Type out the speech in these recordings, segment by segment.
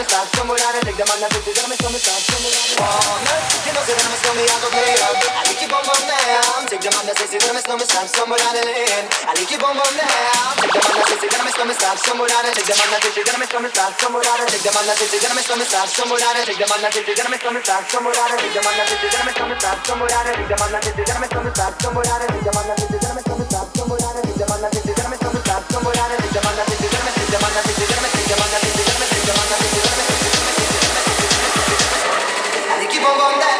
stop, somewhere down and take them on the city, gonna make some stop, somewhere down. You know, say that I'm a snowman, I go play up. I like you, bum bum down. Take them on the city, gonna make some stop, somewhere down the lane. I like you, bum bum down. Take them on the city, gonna make some stop, somewhere down and take them on the city, gonna make some stop, somewhere down and take them on the city, gonna make some stop, somewhere down and take them on the city, gonna make some stop, somewhere down and take them on the city, gonna make some stop, somewhere down and take them on the city, gonna make some stop, somewhere down and take them on the city, gonna make some stop, somewhere down and take them on the city, gonna make some stop, somewhere down and take them on the city, gonna make them on the city, gonna make them on the city, gonna make them on the city, gonna make I keep on going back.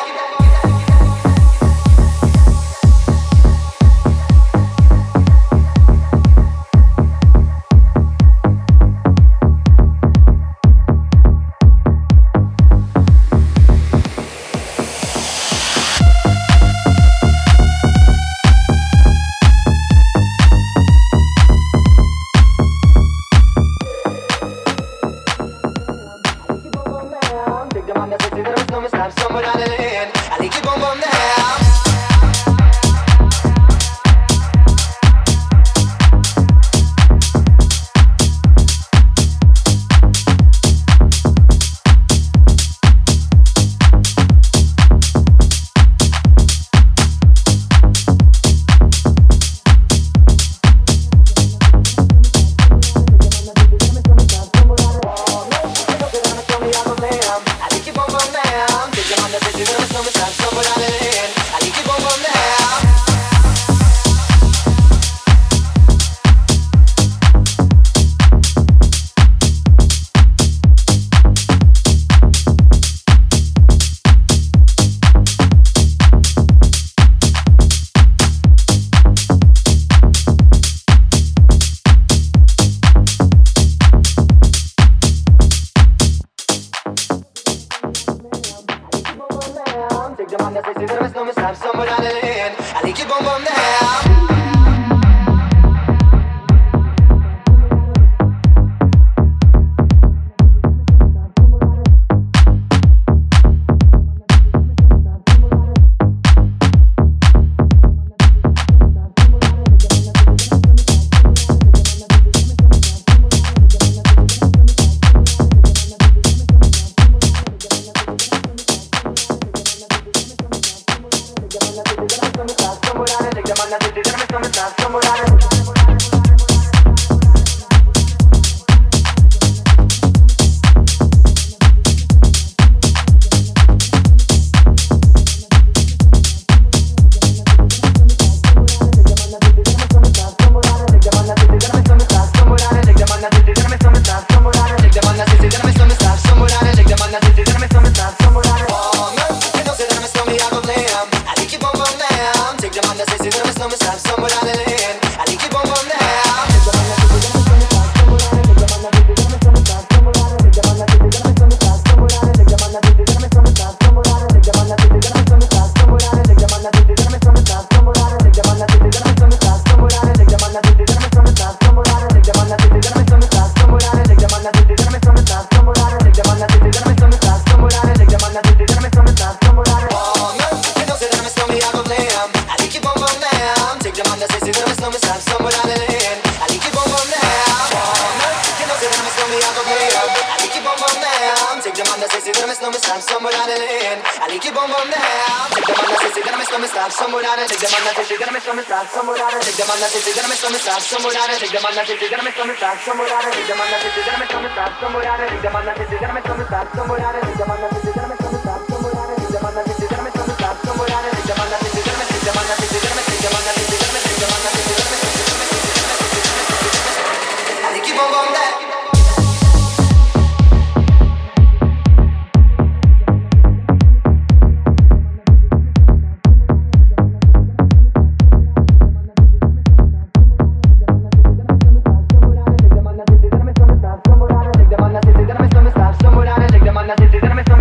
Take them on the city, gonna make some stop, somewhere down and take them on the city, gonna make some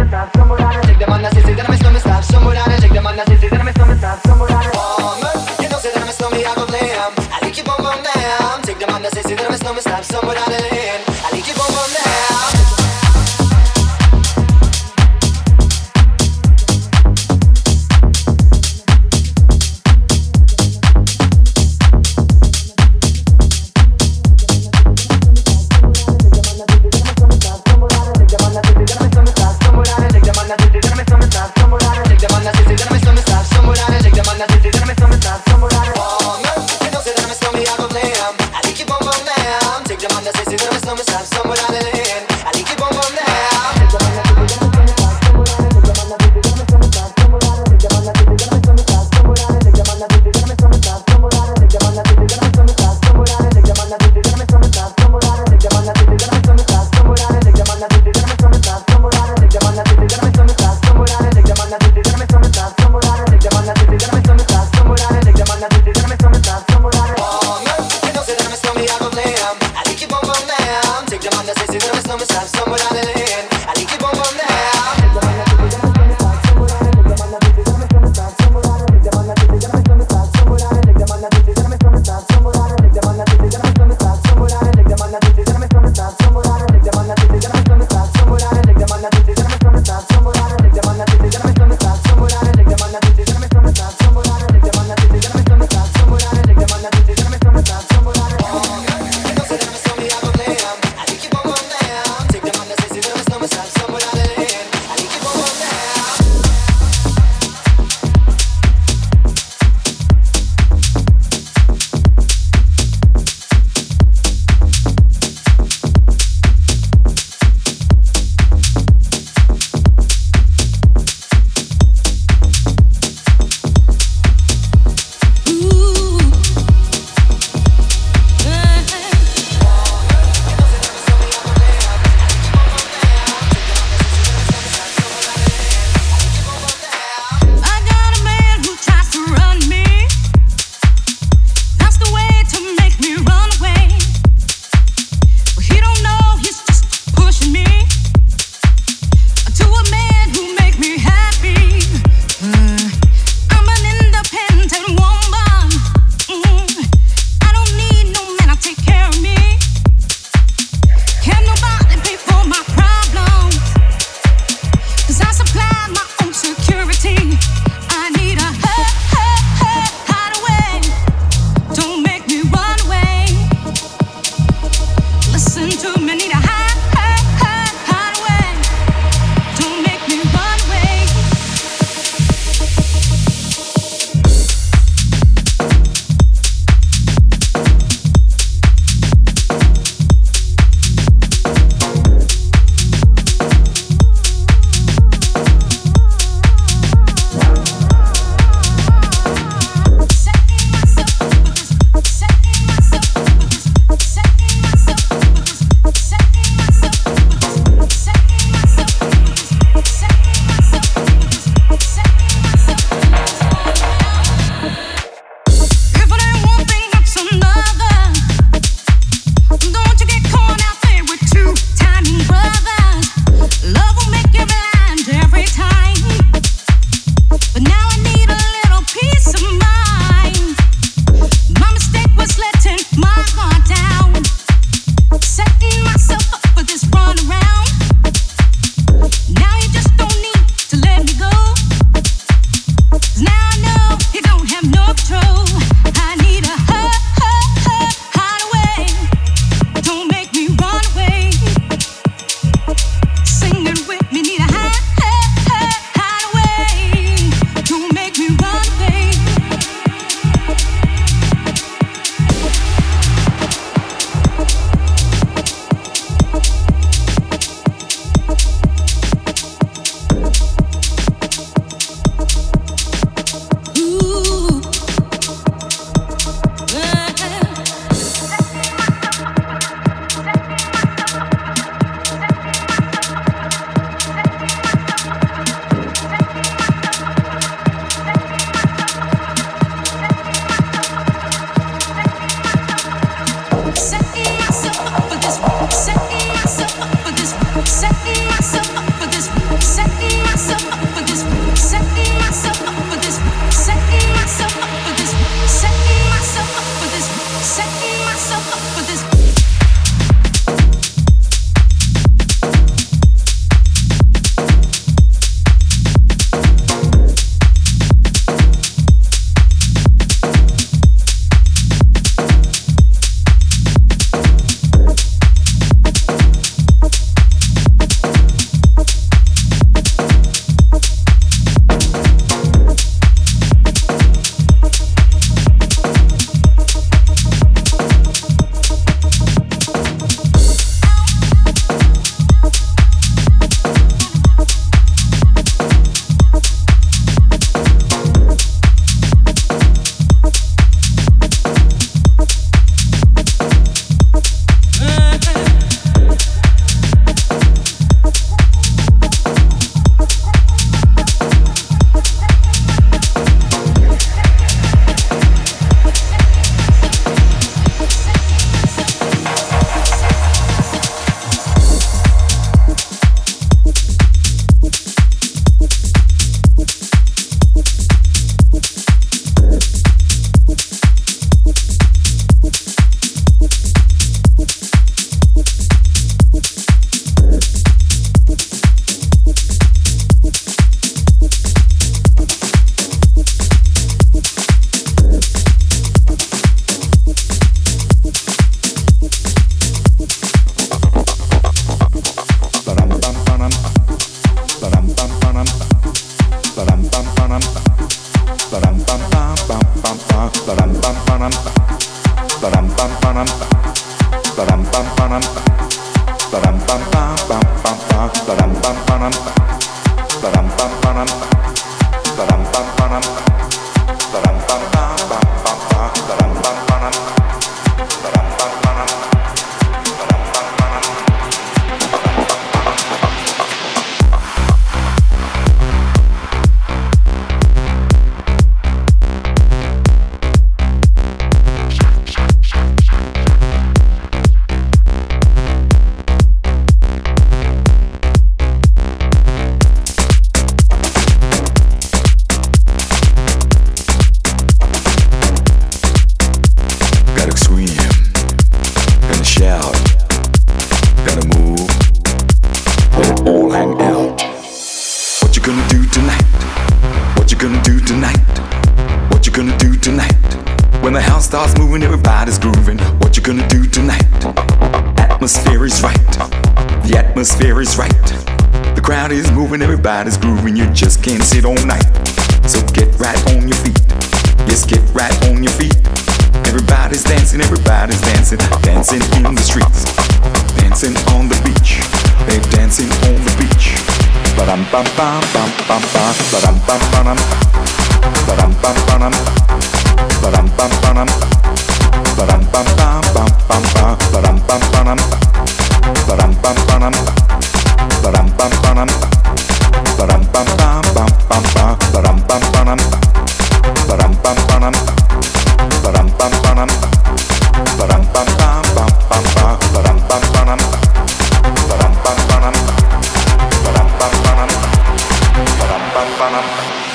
Everybody's grooving, you just can't sit all night. So get right on your feet. Yes, get right on your feet. Everybody's dancing, dancing in the streets, dancing on the beach. They're dancing on the beach. Ba-dum bum bum bum bum bum. Ba-dum bum bum. Ba-dum bum bum. Ba-dum bum bum. Ba-dum bum bum bum bum bum. Ba-dum bum bum. Ba-dum bum bum. Ba-dum bum bum. Ba-dum bum bum bum bum bum. Ba-dum bum bum. Ba-dum bum bum. Ba-dum bum bum. Ba-dum bum bum bum bum bum. Ba-dum bum bum. Ba-dum bum bum. Ba-dum bum bum. Ba-dum bum bum.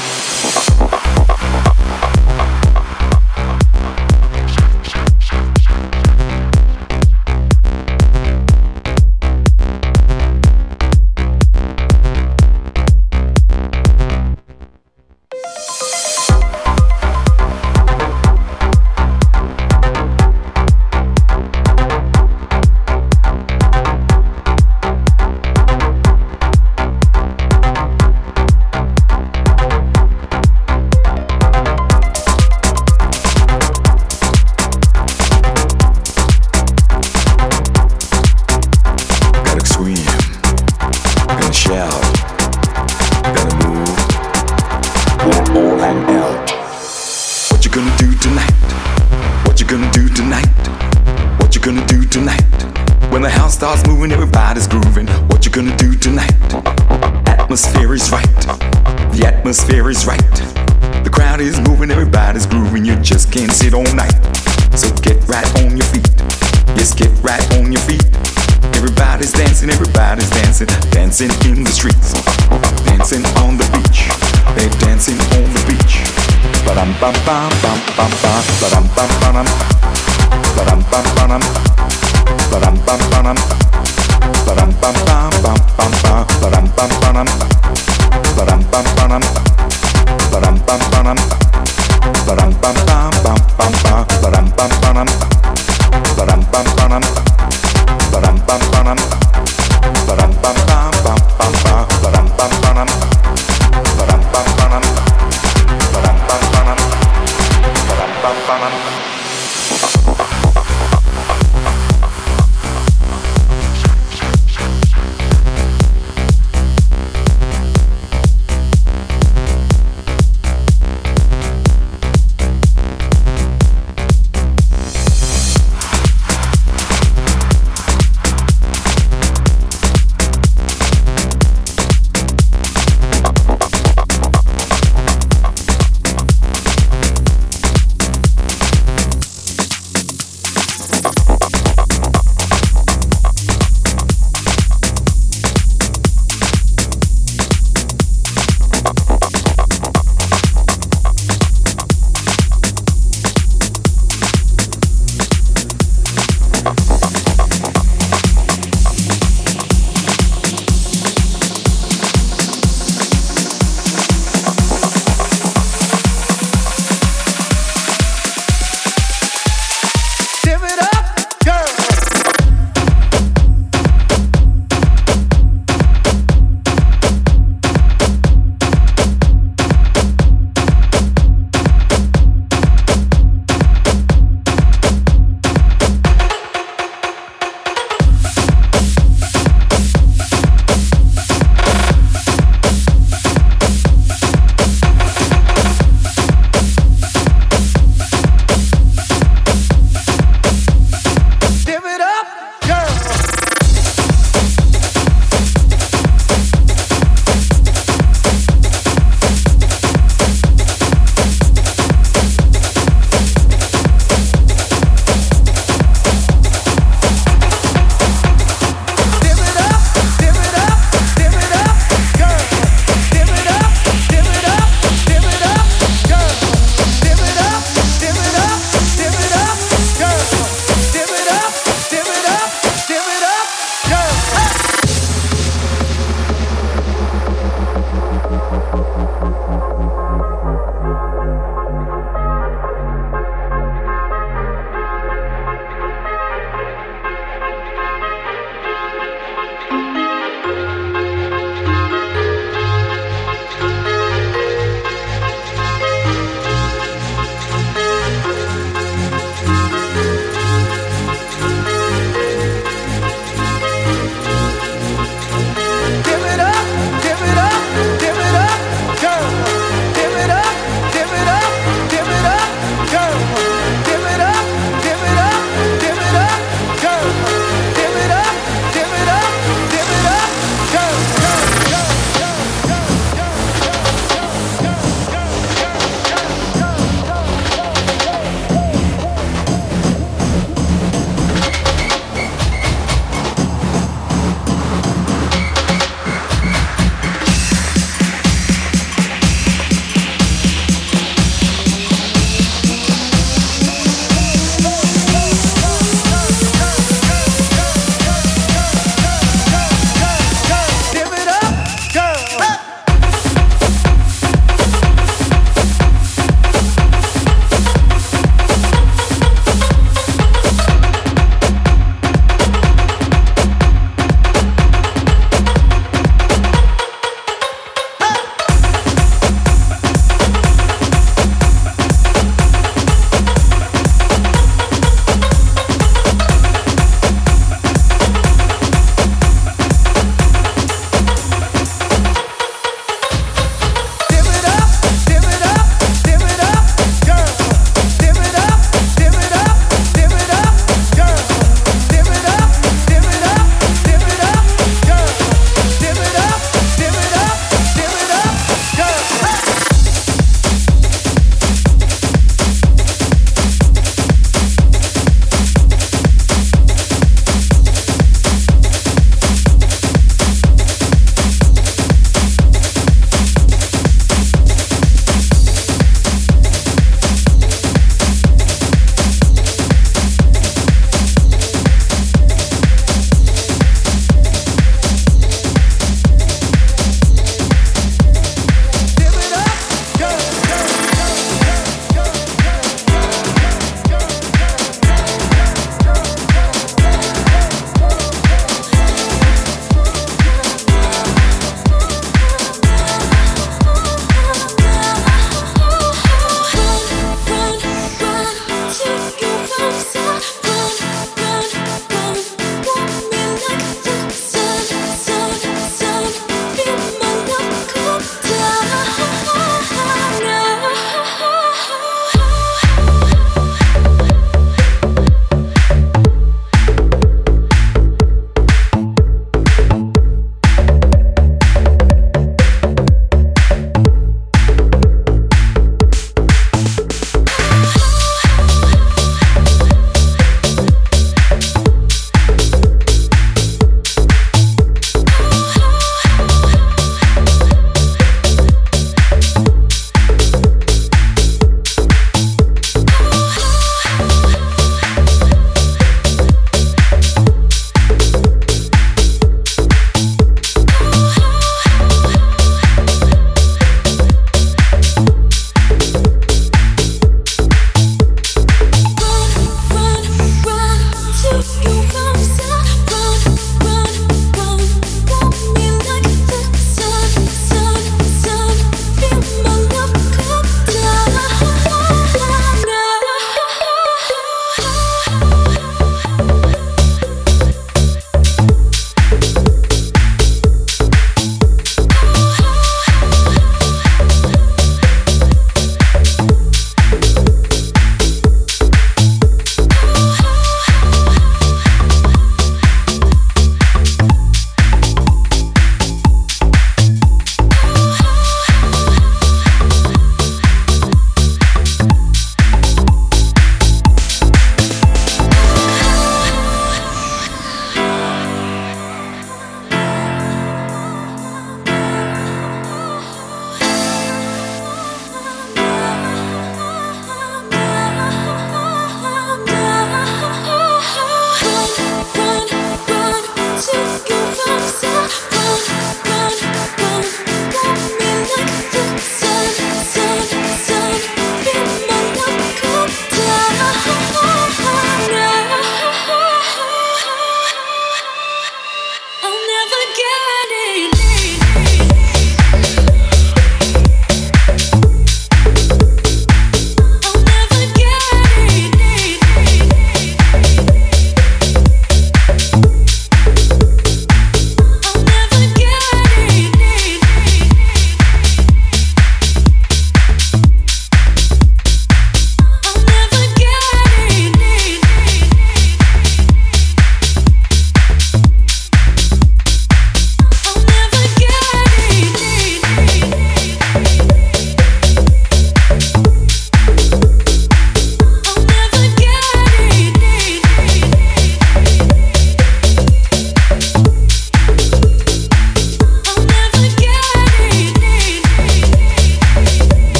Atmosphere is right. The crowd is moving, everybody's grooving. You just can't sit all night. So get right on your feet. Yes, get right on your feet. Everybody's dancing, dancing in the streets, dancing on the beach. They're dancing on the beach. Ba-dum bum bum bum bum bum. Ba-dum bum bum. Ba-dum bum bum. Ba-dum bum bum. Ba-dum bum bum bum bum bum. Ba-dum bum bum. Ba-dum bum bum. Ba-dum bum bum. Ba-dum bum bum bum bum bum. Ba-dum bum bum. Ba-dum bum bum. Ba-dum bum bum. Ba-dum bum bum bum bum bum. Ba-dum bum bum. Ba-dum bum bum. Ba-dum bum bum. Ba-dum bum bum.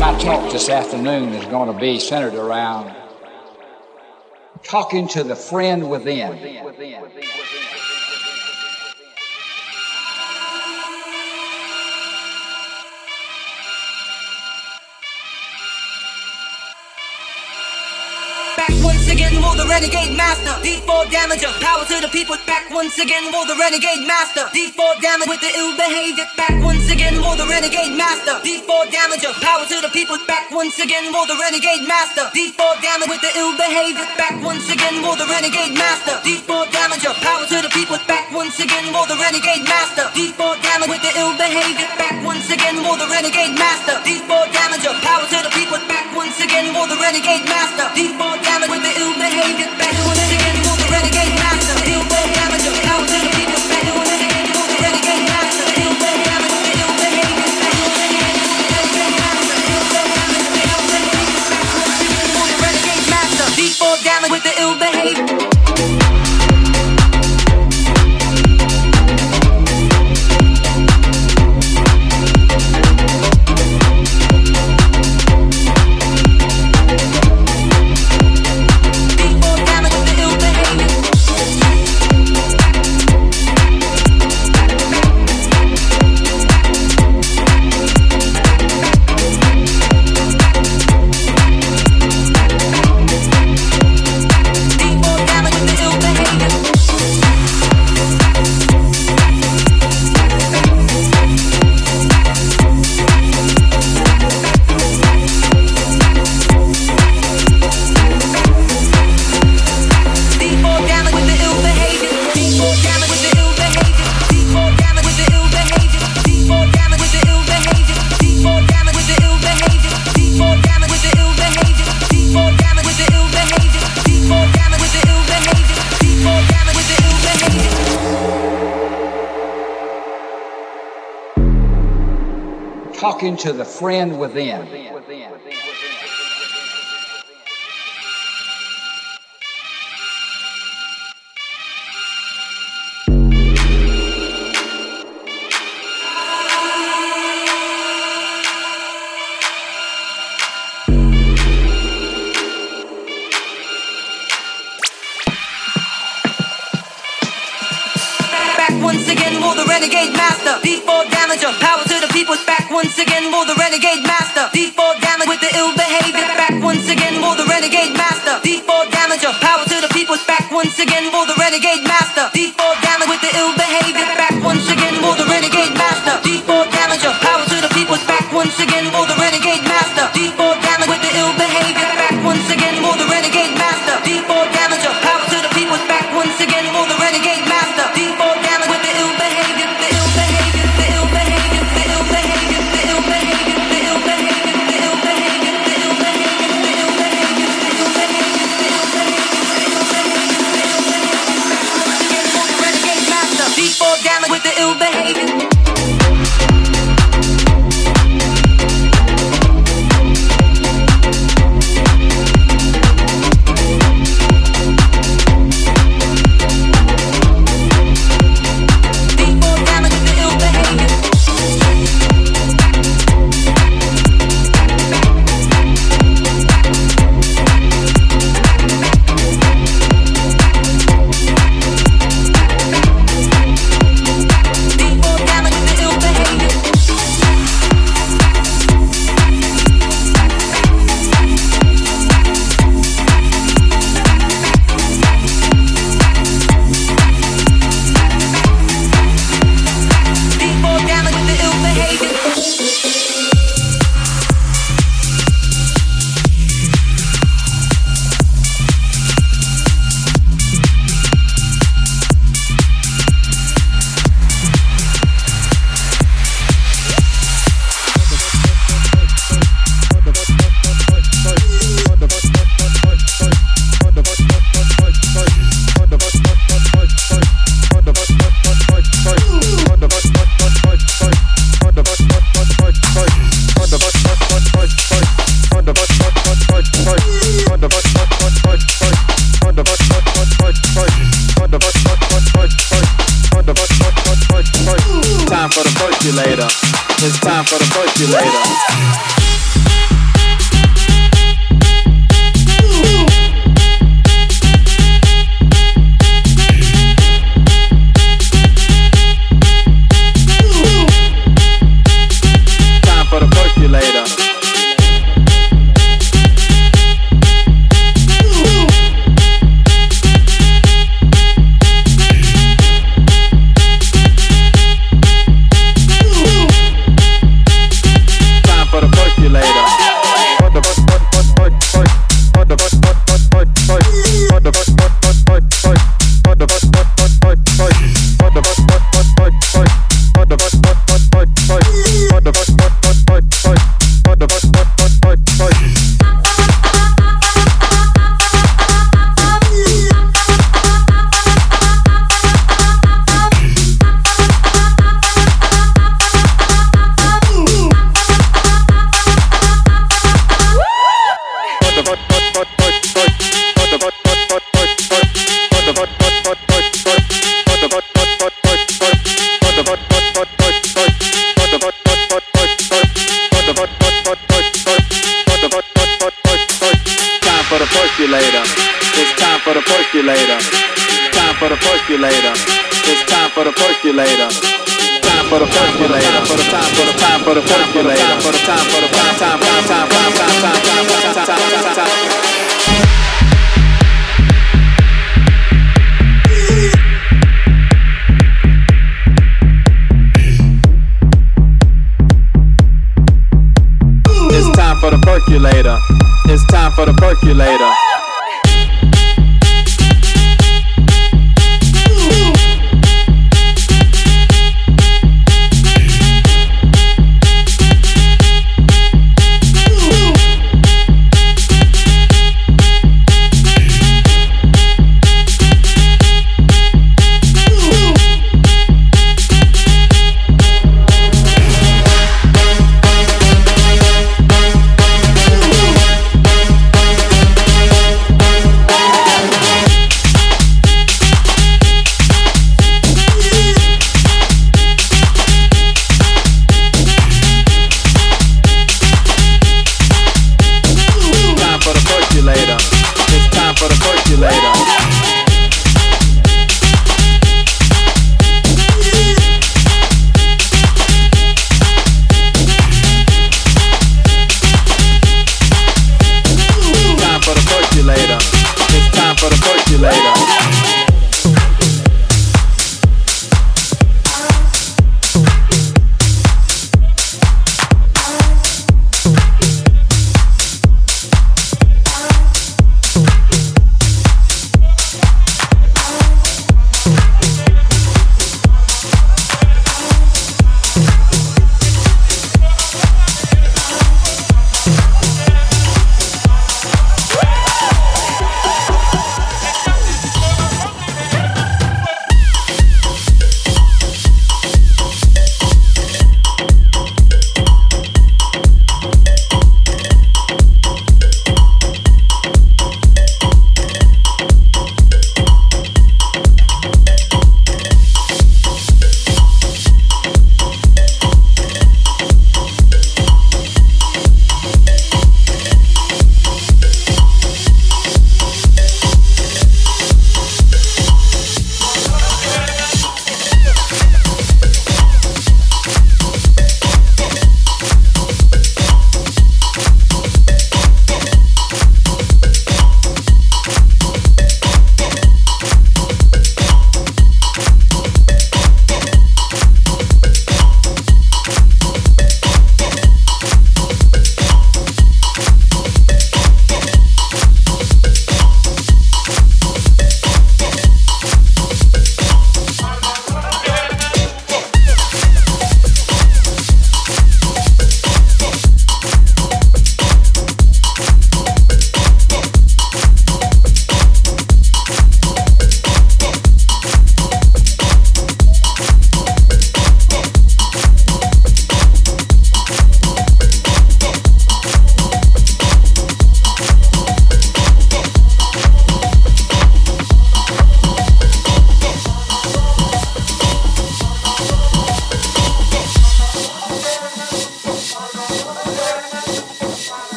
My talk this afternoon is going to be centered around talking to the friend within. Once again, will the renegade master D4 damager, power to the people. Back once again, will the renegade master D4 damage with the ill behavior. Back once again, will the renegade master D4 damager, power to the people. Back once again, will the renegade master D4 damage with the ill behavior. Back once again, will the renegade master D4 damager, power to the people. Back once again, will the renegade master D4 damage with the ill behavior. Back once again, will the renegade master D4 damager, power to the people. Back once again, will the renegade master D4 damage with the ill behavior. Back once again, will the renegade master D4 damager, power to the people. Back once again, will the renegade master D4 damage with the ill behavior. Back once again, will the renegade master D4 damage with the ill behavior. Talking to the friend within. Once again, will the renegade master D4 damager, power to the people. Back once again, will the renegade master D4 damage with the ill behavior. Back once again, will the renegade master D4 damager, power to the people. Back once again, will the renegade master D4 damage with the ill behavior. Back once again, will the renegade master D4 damager, power to the people. Back once again, will the renegade master D4 damage with the ill behavior. Back once again, will the renegade master D4 damager, power to the people. Back once again, will the renegade master D4 damage with the ill behavior. The ill behavior, the ill behavior, the ill behavior, the ill behavior, the ill behavior, the ill behavior, the ill behavior, the ill behavior, the ill behavior, the ill behavior, renegade master D4 damage with the ill behavior. It's time for the percolator.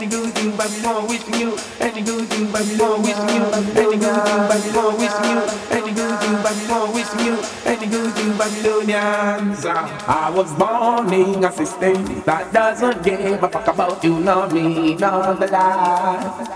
any good you Babylon wishing you, any good you Babylon wishing you, any good you Babylon wishing you, any good you Babylon wishing you, any good you Babylonians. I was born in a system that doesn't give a fuck about you, nor me, nor the life.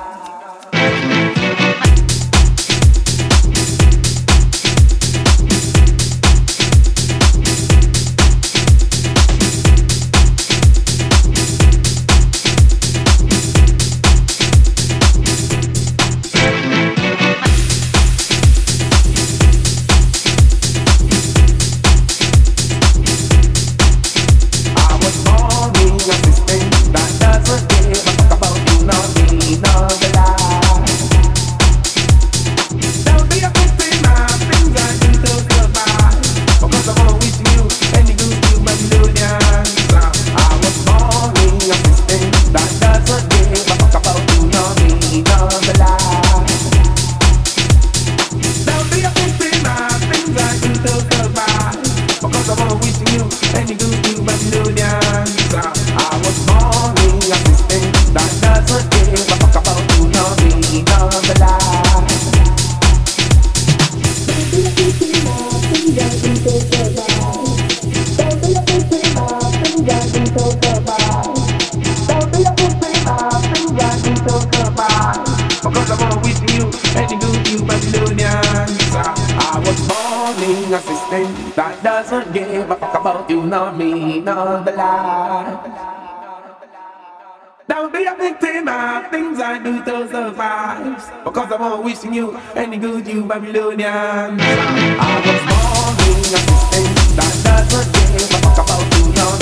That doesn't give a fuck about you, nor me, nor the lie. Don't be a victim of things I do to survive, because I'm always wishing you any good, you Babylonians. I was born in a system that doesn't give a fuck about you, nor